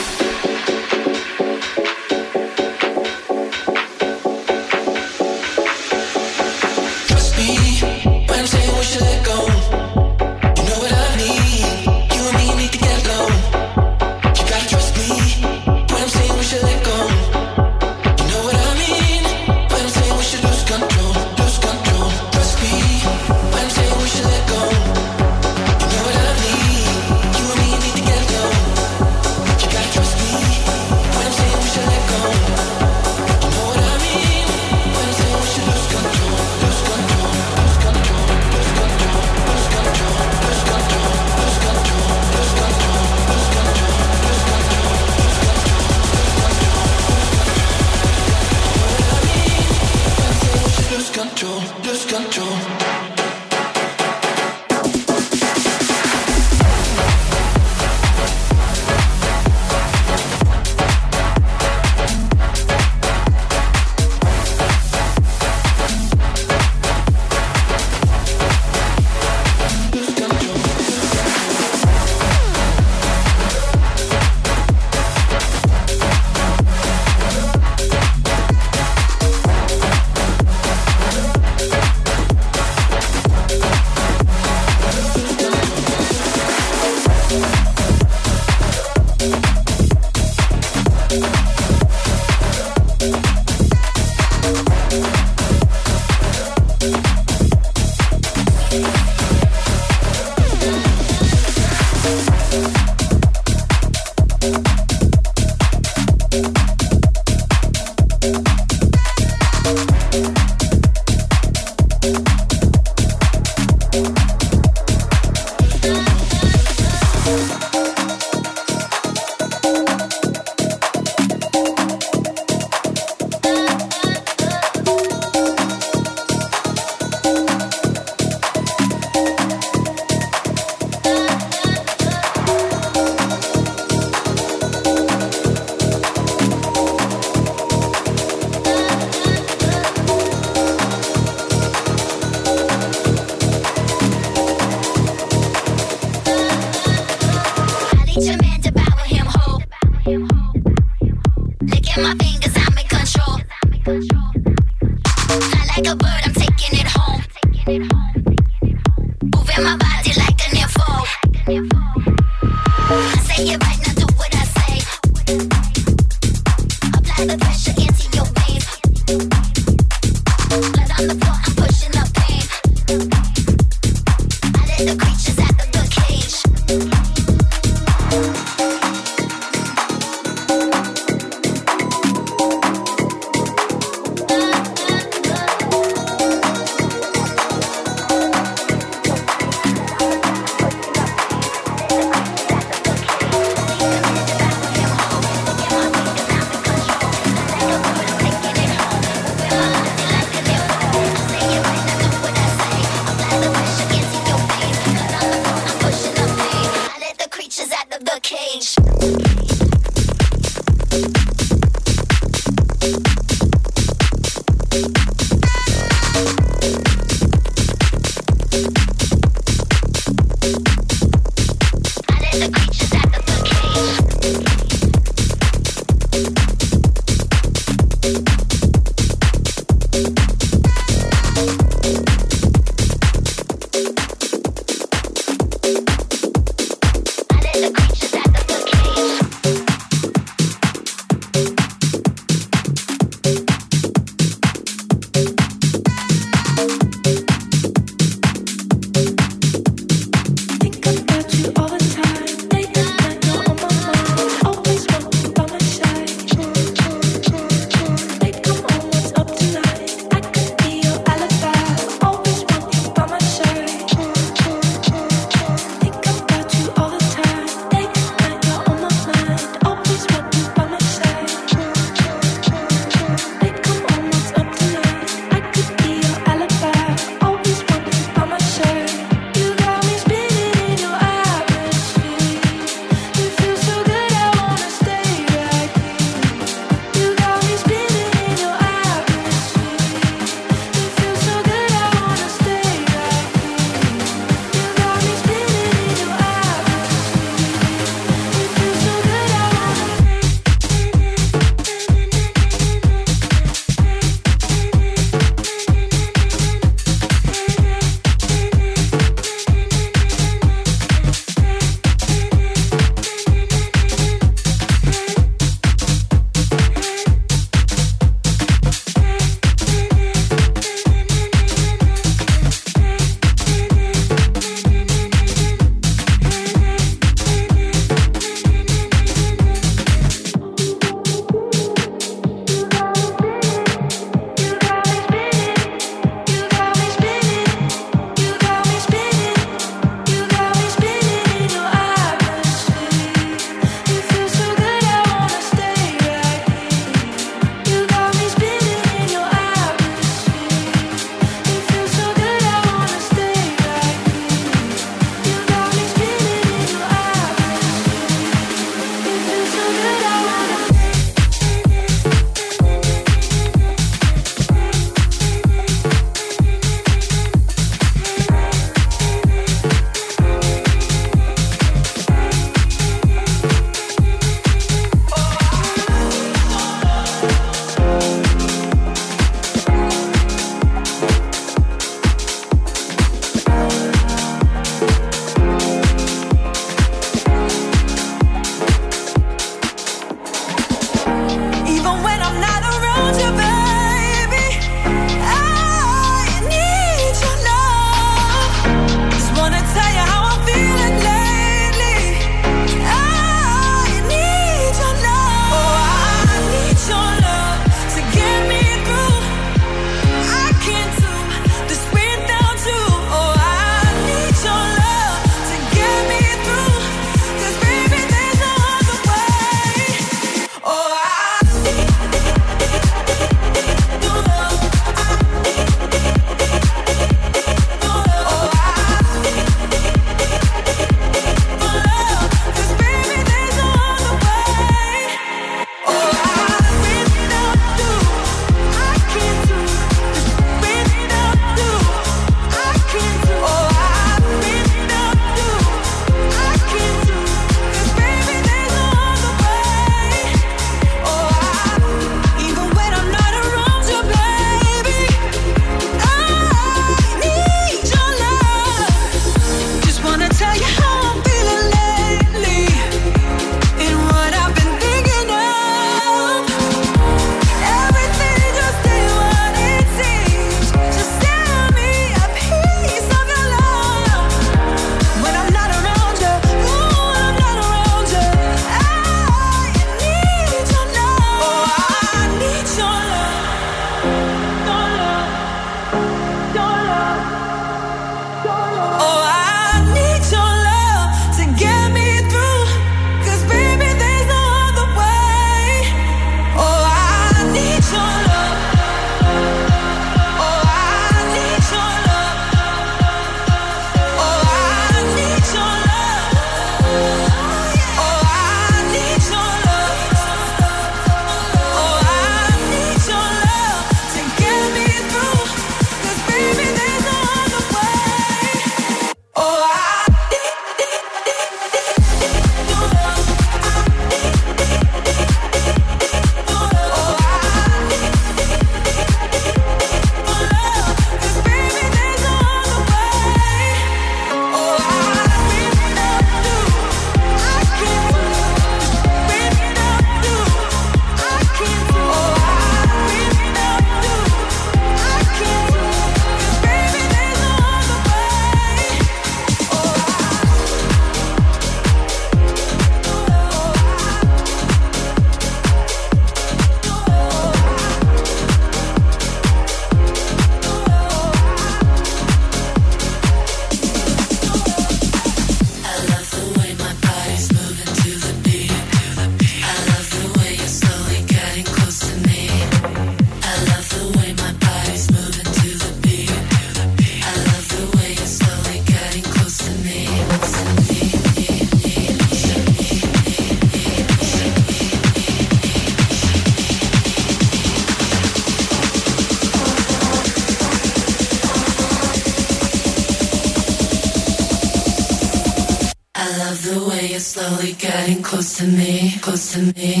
slowly getting close to me, close to me.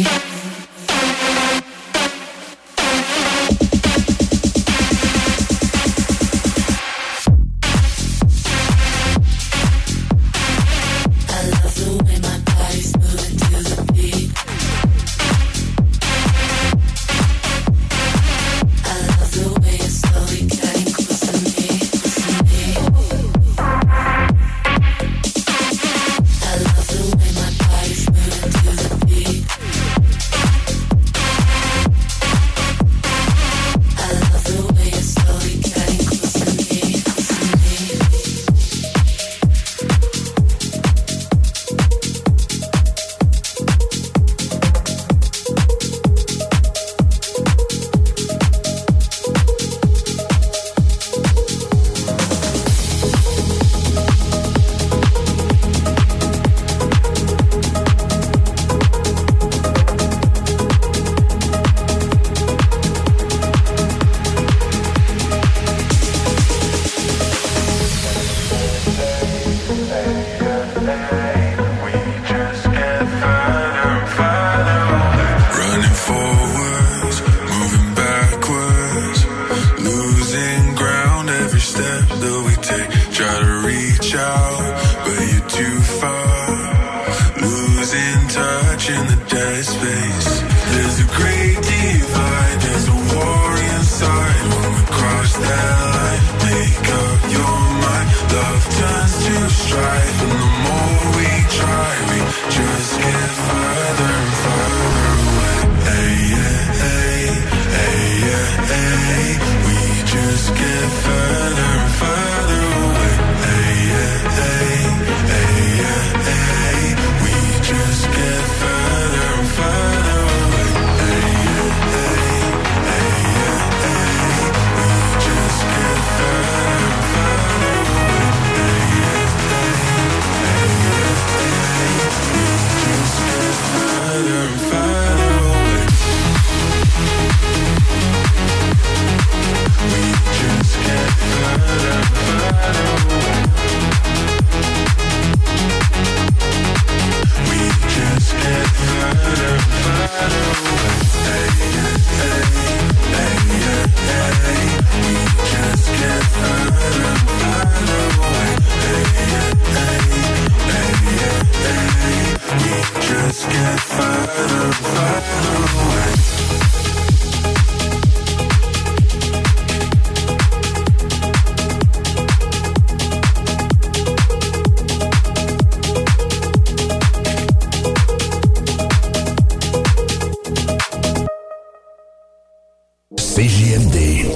CJMD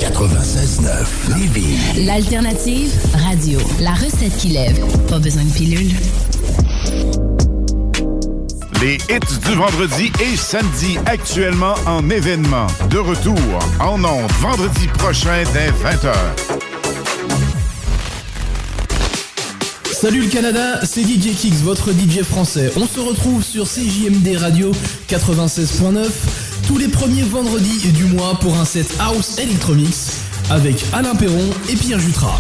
96.9 Lévis. L'alternative radio. La recette qui lève. Pas besoin de pilule. Les hits du vendredi et samedi actuellement en événement. De retour en ondes vendredi prochain dès 20h. Salut le Canada, c'est DJ Kix, votre DJ français. On se retrouve sur CJMD Radio 96.9 tous les premiers vendredis du mois pour un set House Electromix avec Alain Perron et Pierre Jutras.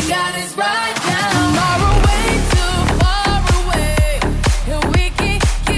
Right now, far away, too far away.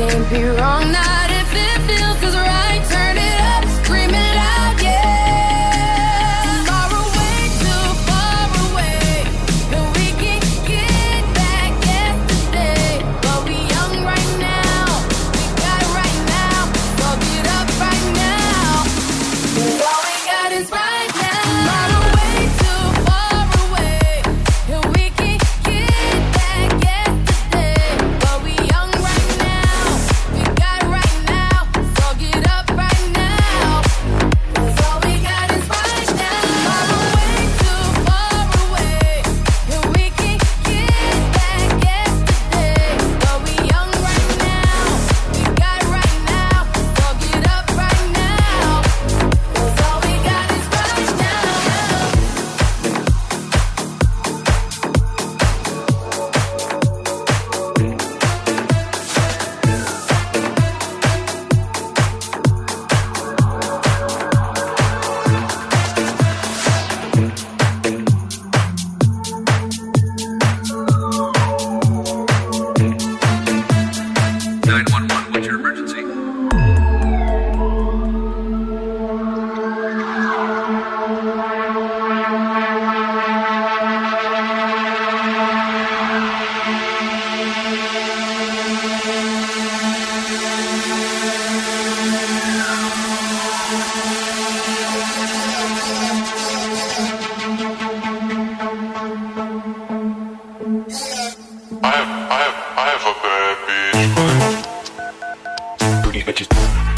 can't be wrong, not if it feels just right. Turn it up, scream it out, yeah. Far away, too far away, and we can get back yesterday. But we young right now, we got it right now, so get up right now. 'Cause all we got is right now. Far away, too far away, and we can get back yesterday. But we young right now, we got it right now, so get up right now. 'Cause all we got is right now. Far away, too far away, and we can get back yesterday. But we young right now, we got it right now, so get up right now. 'Cause all we got is right now. What's your emergency? I have a bad bitch. Booty bitches.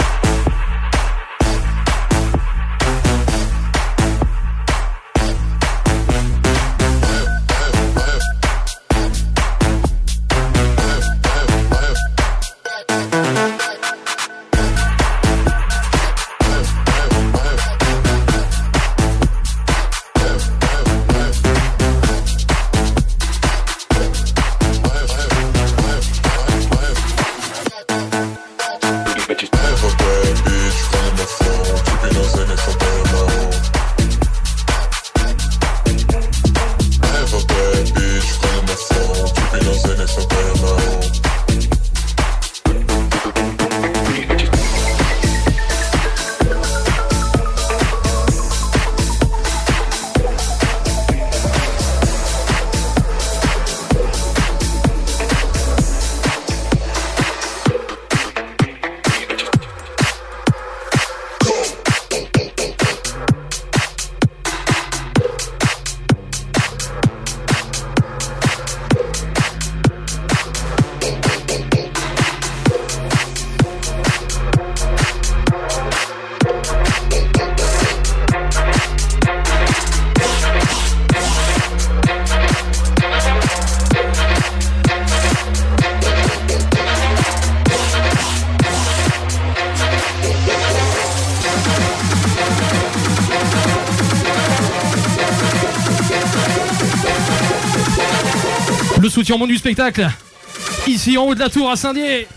Le soutien au monde du spectacle, ici en haut de la tour à Saint-Dié.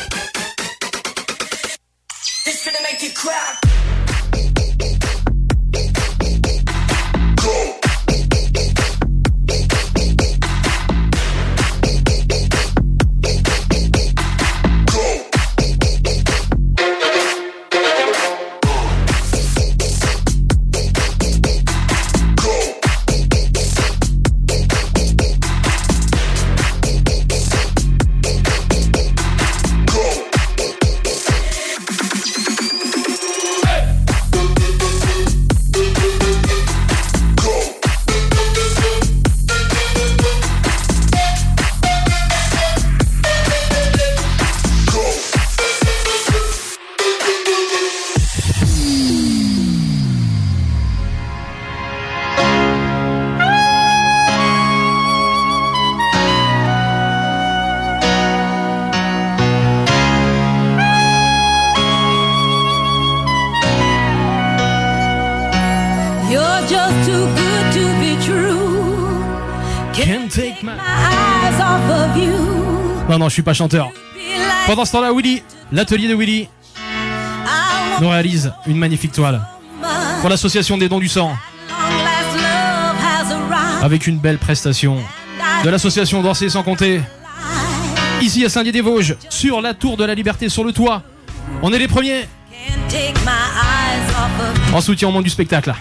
Non, je suis pas chanteur. Pendant ce temps-là, Willy, l'atelier de Willy, nous réalise une magnifique toile pour l'association des dons du sang, avec une belle prestation de l'association Danser sans compter, Ici à Saint-Dié-des-Vosges, sur la Tour de la Liberté, sur le toit. On est les premiers. En soutien au monde du spectacle.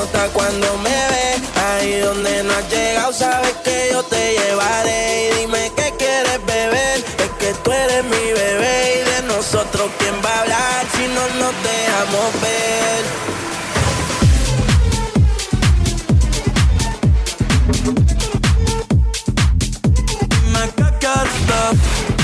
nota cuando me ves. Ahí donde no has llegado, sabes que yo te llevaré. Y dime qué quieres beber, es que tú eres mi bebé. Y de nosotros, ¿quién va a hablar si no nos dejamos ver? Dime qué quieres beber.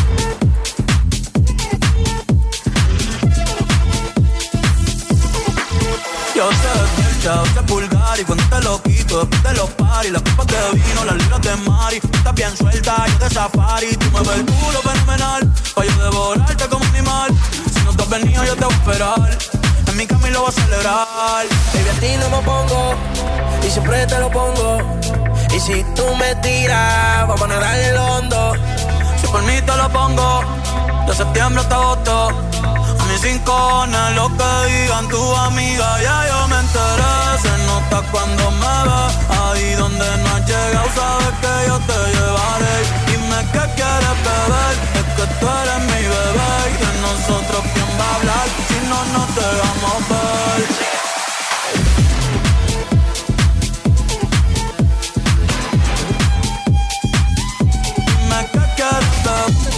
Yo sé que el se pulgar y cuando te lo quito después de los paris, las copas de vino, las libras de mari. Tú estás bien suelta, yo de safari. Tú me ves el culo fenomenal, pa' yo devorarte como animal. Si no te has venido yo te voy a esperar, en mi cama y lo voy a celebrar. Baby, a ti no me pongo, y siempre te lo pongo. Y si tú me tiras, vamos a nadar en el hondo. Si por mí te lo pongo, de septiembre hasta agosto. Mis 5 lo que digan tu amiga, ya yo me enteré. Se nota cuando me ves, ahí donde no has llegado, sabes que yo te llevaré. Dime qué quieres beber, es que tú eres mi bebé. Y de nosotros quién va a hablar, si no nos dejamos ver. Dime qué quieres beber.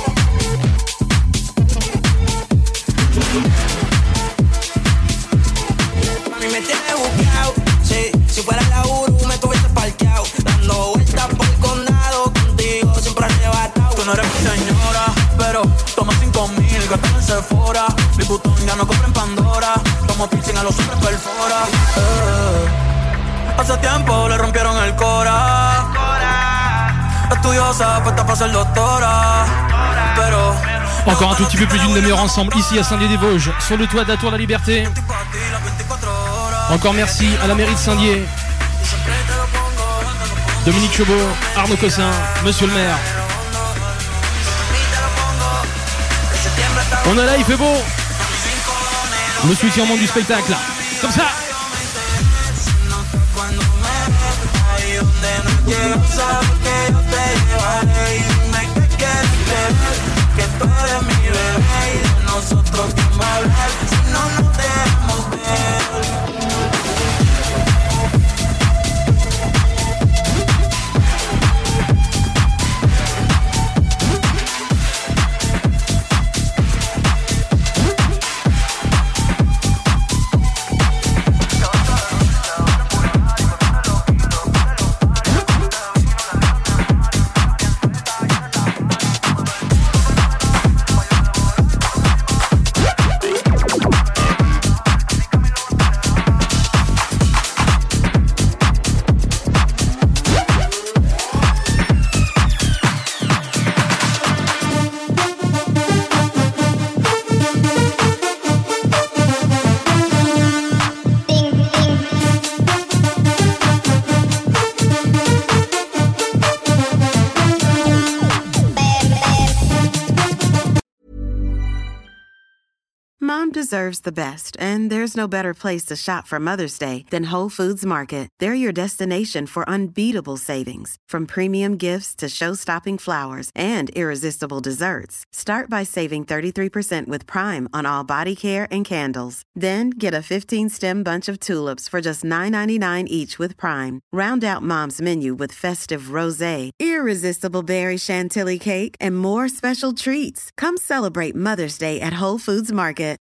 Mami, me tienes buqueado, sí. Si fuera la Uru me tuviese parqueado, dando vueltas por el condado, contigo siempre arrebatado. Tú no eres mi señora, pero toma 5,000, gastame en Sephora. Mi putón ya no compra en Pandora, tomo piercing a los hombres perfora. Hace tiempo le rompieron el cora. Estudiosa, puesta para ser doctora, pero... Encore un tout petit peu plus d'une demi-heure ensemble ici à Saint-Dié-des-Vosges, sur le toit de la Tour de la Liberté. Encore merci à la mairie de Saint-Dié, Dominique Chauveau, Arnaud Cossin, Monsieur le maire. On est là, il fait beau. Le soutien du spectacle, comme ça. Que tú eres mi bebé y de nosotros quién va a hablar si no nos dejamos ver. Mom deserves the best, and there's no better place to shop for Mother's Day than Whole Foods Market. They're your destination for unbeatable savings, from premium gifts to show-stopping flowers and irresistible desserts. Start by saving 33% with Prime on all body care and candles. Then get a 15-stem bunch of tulips for just $9.99 each with Prime. Round out Mom's menu with festive rosé, irresistible berry chantilly cake, and more special treats. Come celebrate Mother's Day at Whole Foods Market.